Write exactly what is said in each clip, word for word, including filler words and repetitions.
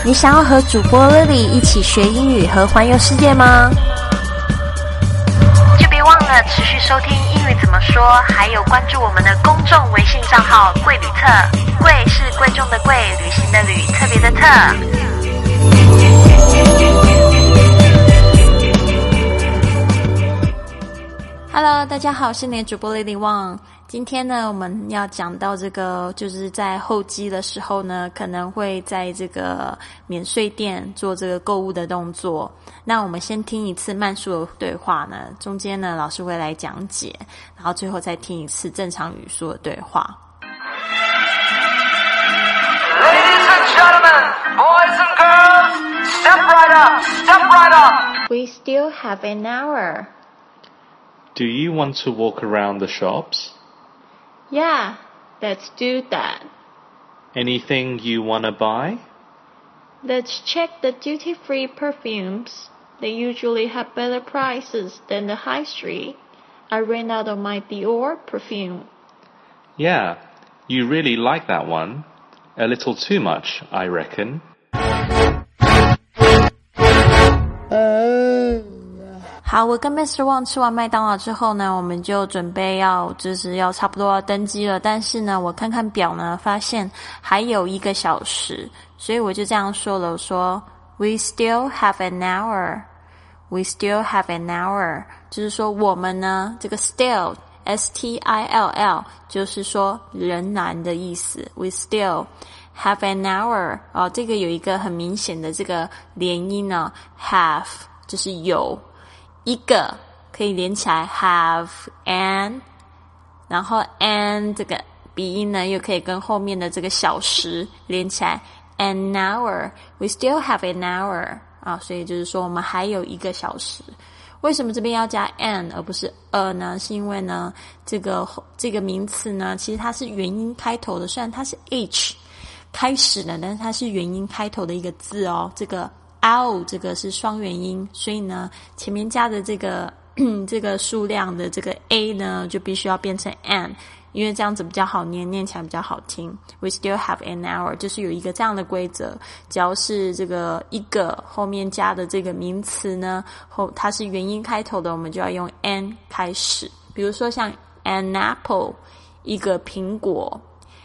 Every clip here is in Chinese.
你想要和主播 Lily 一起学英语和环游世界吗？就别忘了持续收听英语怎么说，还有关注我们的公众微信账号贵旅特，贵是贵重的贵，旅行的旅，特别的特。Hello， 大家好，我是你的主播 Lily Wang。今天呢，我们要讲到这个，就是在候机的时候呢，可能会在这个免税店做这个购物的动作。那我们先听一次慢速的对话呢，中间呢老师会来讲解，然后最后再听一次正常语速的对话。 Ladies and gentlemen, boys and girls, step right up, step right up. We still have an hour. Do you want to walk around the shops? Yeah, let's do that. Anything you want to buy? Let's check the duty-free perfumes. They usually have better prices than the high street. I ran out of my Dior perfume. Yeah, you really like that one. A little too much, I reckon. 好，我跟 Mister Wang 吃完麦当劳之后呢，我们就准备要就是要差不多要登机了，但是呢我看看表呢，发现还有一个小时，所以我就这样说了，我说 We still have an hour. We still have an hour. 就是说我们呢，这个 still S T I L L 就是说仍然的意思。 We still have an hour. 哦，这个有一个很明显的这个连音呢， have 就是有一个可以连起来 have an， 然后 an 这个鼻音呢又可以跟后面的这个小时连起来 an hour. We still have an hour 啊，所以就是说我们还有一个小时。为什么这边要加 an 而不是 a 呢？是因为呢这个这个名词呢其实它是元音开头的，虽然它是 h 开始的，但是它是元音开头的一个字哦。这个ow 这个是双元音，所以呢前面加的这个这个数量的这个 a 呢就必须要变成 an， 因为这样子比较好念，念起来比较好听。 We still have an hour 就是有一个这样的规则，只要是这个一个后面加的这个名词呢后它是元音开头的，我们就要用 an 开始。比如说像 an apple 一个苹果，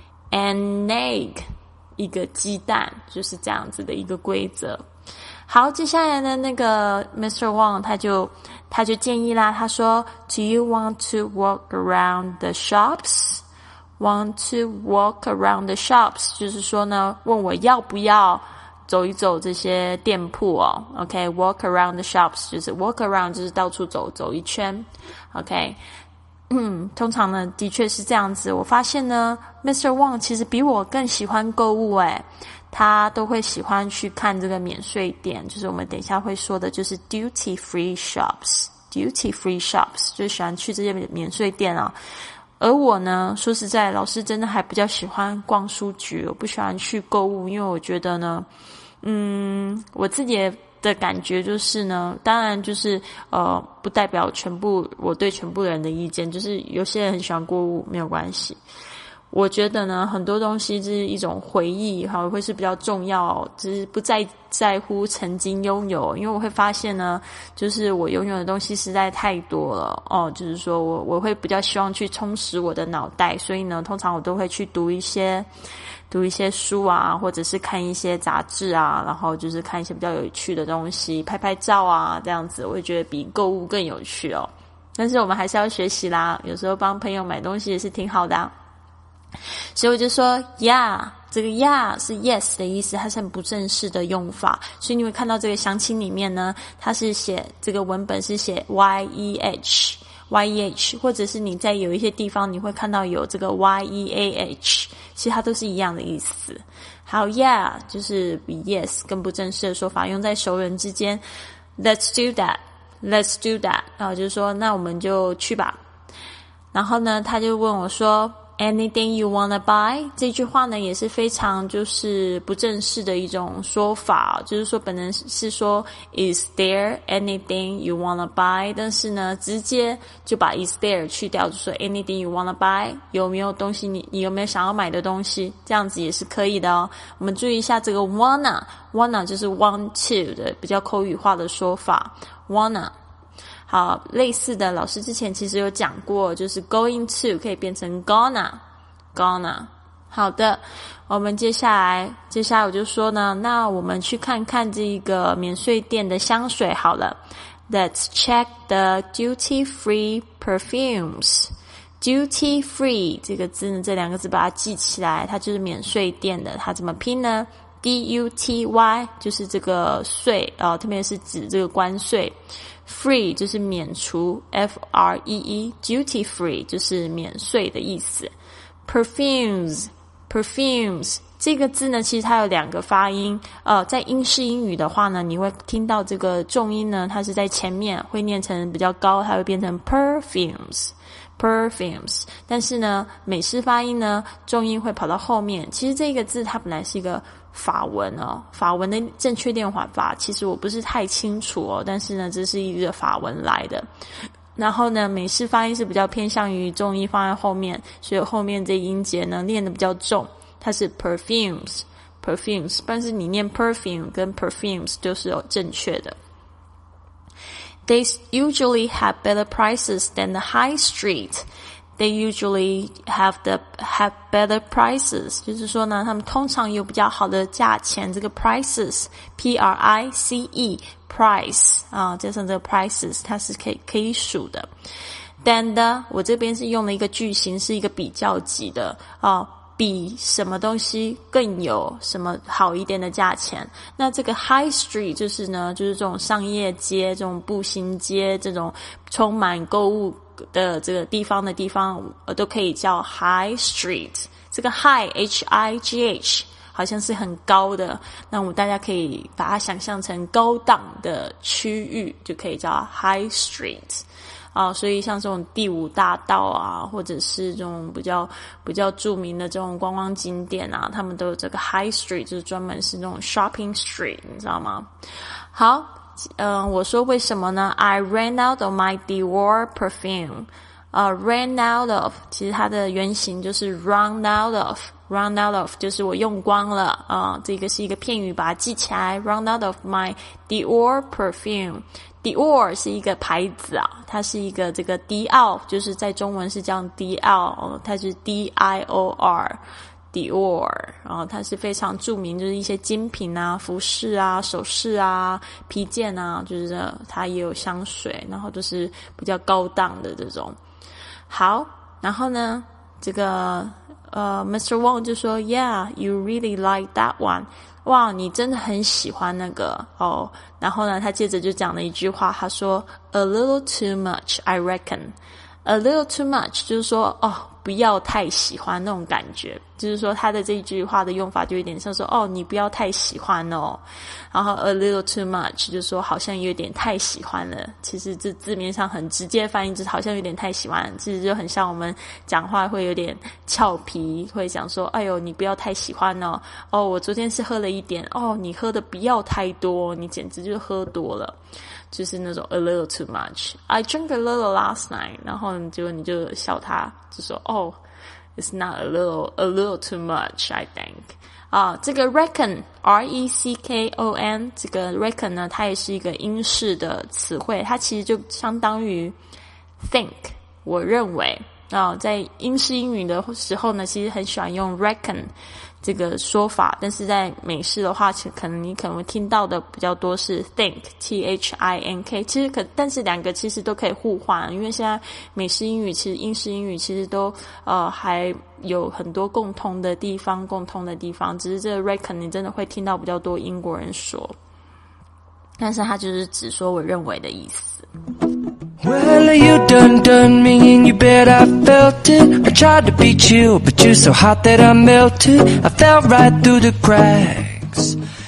an egg 一个鸡蛋，就是这样子的一个规则。好，接下来呢，那个 Mister Wang 他就他就建议啦，他说 Do you want to walk around the shops? Want to walk around the shops 就是说呢，问我要不要走一走这些店铺哦。 OK, walk around the shops 就是 walk around 就是到处走走一圈。 OK, 嗯，通常呢的确是这样子。我发现呢 Mister Wang 其实比我更喜欢购物诶，他都会喜欢去看这个免税店，就是我们等一下会说的，就是 duty free shops duty free shops 就是喜欢去这些免税店啊。而我呢说实在，老师真的还比较喜欢逛书局，我不喜欢去购物，因为我觉得呢嗯，我自己的感觉就是呢，当然就是呃，不代表全部我对全部人的意见，就是有些人很喜欢购物没有关系。我觉得呢很多东西是一种回忆哈，会是比较重要，只是不再在乎曾经拥有，因为我会发现呢就是我拥有的东西实在太多了哦，就是说我我会比较希望去充实我的脑袋，所以呢通常我都会去读一些读一些书啊，或者是看一些杂志啊，然后就是看一些比较有趣的东西，拍拍照啊，这样子我会觉得比购物更有趣哦。但是我们还是要学习啦，有时候帮朋友买东西也是挺好的啊。所以我就说 yeah， 这个 yeah 是 yes 的意思，它是很不正式的用法，所以你会看到这个详情里面呢，它是写这个文本是写 y e h y e h， 或者是你在有一些地方你会看到有这个 y e a h， 其实它都是一样的意思。好 yeah 就是比 yes 更不正式的说法，用在熟人之间。 Let's do that Let's do that 然后就是说那我们就去吧。然后呢他就问我说 anything you wanna buy 这句话呢也是非常就是不正式的一种说法，就是说本人是说 is there anything you wanna buy， 但是呢直接就把 is there 去掉，就说 anything you wanna buy， 有没有东西你你有没有想要买的东西，这样子也是可以的哦。我们注意一下这个 wanna wanna 就是 want to 的比较口语化的说法 wanna。好，类似的老师之前其实有讲过，就是 going to 可以变成 gonna gonna。 好的，我们接下来接下来我就说呢，那我们去看看这个免税店的香水好了。 Let's check the duty free perfumes。 duty free 这个字呢，这两个字把它记起来，它就是免税店的，它怎么拼呢？ D U T Y 就是这个税呃，特别是指这个关税， free 就是免除 F R E E， duty free 就是免税的意思。 perfumes perfumes 这个字呢，其实它有两个发音，呃，在英式英语的话呢，你会听到这个重音呢，它是在前面会念成比较高，它会变成 perfumes perfumes， 但是呢美式发音呢重音会跑到后面。其实这个字它本来是一个法文哦，法文的正确念法其实我不是太清楚哦，但是呢这是一个法文来的，然后呢美式发音是比较偏向于重音放在后面，所以后面这音节呢念得比较重，它是 perfumes perfumes， 但是你念 perfume 跟 perfumes 就是有正确的。They usually have better prices than the high street. They usually have the have better prices. 就是说呢，他们通常有比较好的价钱。这个 prices, P R I C E, price 啊，加上这个 prices， 它是可以可以数的。Than the， 我这边是用了一个句型，是一个比较级的啊。比什么东西更有什么好一点的价钱。那这个 high street 就是呢，就是这种商业街，这种步行街，这种充满购物的这个地方的地方，呃，都可以叫 high street。这个 high H I G H 好像是很高的，那我们大家可以把它想象成高档的区域，就可以叫 high street。啊，所以像这种第五大道啊，或者是这种比较比较著名的这种观光景点啊，他们都有这个 high street， 就是专门是那种 shopping street， 你知道吗？好，嗯、呃，我说为什么呢 ？I ran out of my Dior perfume。呃 ，ran out of， 其实它的原型就是 run out of。run out of 就是我用光了啊、呃，这个是一个片语，把它记起来。run out of my Dior perfume。Dior 是一个牌子啊，它是一个这个迪奥，就是在中文是叫迪奥，哦、它是 D I O R Dior， 然后它是非常著名，就是一些精品啊、服饰啊、首饰啊、皮件啊，就是它也有香水，然后都是比较高档的这种。好，然后呢，这个呃 Mister Wong 就说 Yeah, you really like that one。哇，你真的很喜欢那个哦。然后呢，他接着就讲了一句话，他说 A little too much, I reckon. A little too much 就是说哦，不要太喜欢那种感觉，就是说他的这一句话的用法就有点像说哦，你不要太喜欢哦。然后 a little too much 就是说好像有点太喜欢了，其实这字面上很直接翻译就是好像有点太喜欢，其实就很像我们讲话会有点俏皮，会讲说哎呦你不要太喜欢哦，哦我昨天是喝了一点，哦你喝的不要太多，你简直就是喝多了，就是那种 a little too much. I drank a little last night. 然后结果你就笑他，就说哦 it's not a little, a little too much, I think. 啊，这个 reckon, R E C K O N, 这个 reckon 呢，它也是一个英式的词汇，它其实就相当于 think, 我认为。啊，在英式英语的时候呢，其实很喜欢用 reckon 这个说法，但是在美式的话，可能你可能会听到的比较多是 think, T H I N K。其实可，但是两个其实都可以互换，因为现在美式英语其实英式英语其实都呃还有很多共通的地方，共通的地方，只是这个 reckon 你真的会听到比较多英国人说，但是它就是只说我认为的意思。 Well, you done done me and you bet I felt it. I tried to beat you, but you're so hot that I melted. I fell right through the cracks.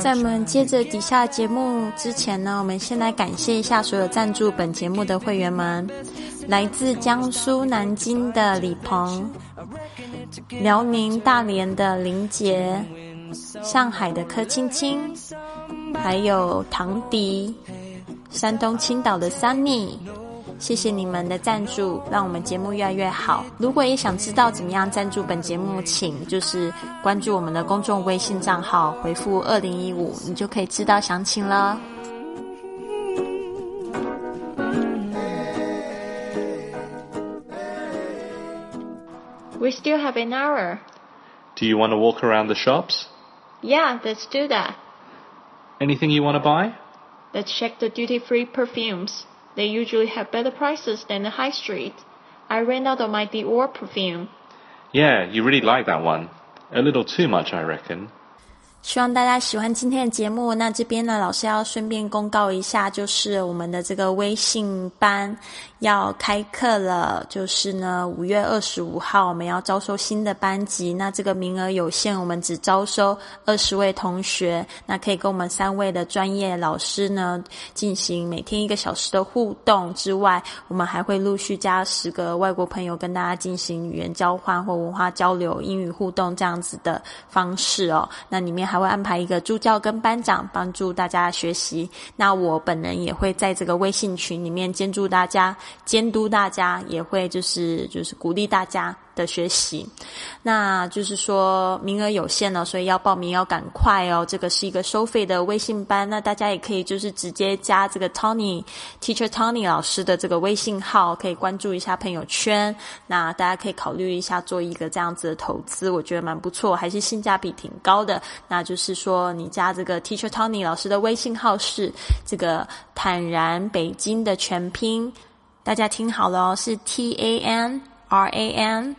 在我们接着底下节目之前呢，我们先来感谢一下所有赞助本节目的会员们。来自江苏南京的李鹏，辽宁大连的林杰，上海的柯青青，还有唐迪，山东青岛的 Sunny， 谢谢你们的赞助，让我们节目越来越好。如果也想知道怎么样赞助本节目，请就是关注我们的公众微信账号，回复二零一五，你就可以知道详情了。We still have an hour. Do you want to walk around the shops? Yeah, let's do that. Anything you want to buy? Let's check the duty-free perfumes. They usually have better prices than the high street. I ran out of my Dior perfume. Yeah, you really like that one. A little too much, I reckon. 希望大家喜欢今天的节目。那这边呢，老师要顺便公告一下，就是我们的这个微信班要开课了，就是呢五月二十五号我们要招收新的班级，那这个名额有限，我们只招收二十位同学，那可以跟我们三位的专业老师呢进行每天一个小时的互动之外，我们还会陆续加十个外国朋友跟大家进行语言交换或文化交流、英语互动这样子的方式哦。那里面还会安排一个助教跟班长帮助大家学习，那我本人也会在这个微信群里面监督大家监督大家，也会就是就是鼓励大家的学习。那就是说名额有限了，所以要报名要赶快哦。这个是一个收费的微信班，那大家也可以就是直接加这个 Tony Teacher Tony 老师的这个微信号，可以关注一下朋友圈。那大家可以考虑一下做一个这样子的投资，我觉得蛮不错，还是性价比挺高的。那就是说你加这个 Teacher Tony 老师的微信号是这个坦然北京的全拼，大家听好了哦，是 T A N R A N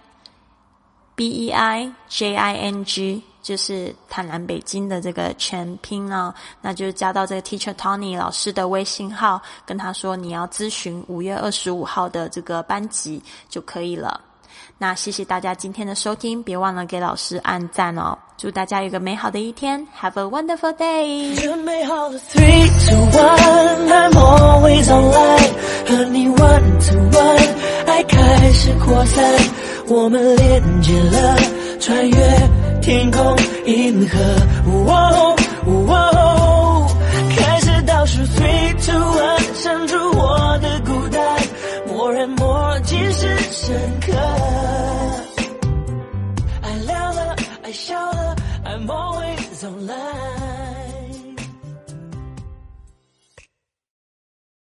B E I J I N G， 就是坦然北京的这个全拼哦。那就加到这个 Teacher Tony 老师的微信号，跟他说你要咨询五月二十五号的这个班级就可以了。那谢谢大家今天的收听，别忘了给老师按赞哦。祝大家有个美好的一天 Have a wonderful day。 Three, two, one, I'm always online， 和你 one to one， 爱开始扩散，我们连接了，穿越天空银河。哦哦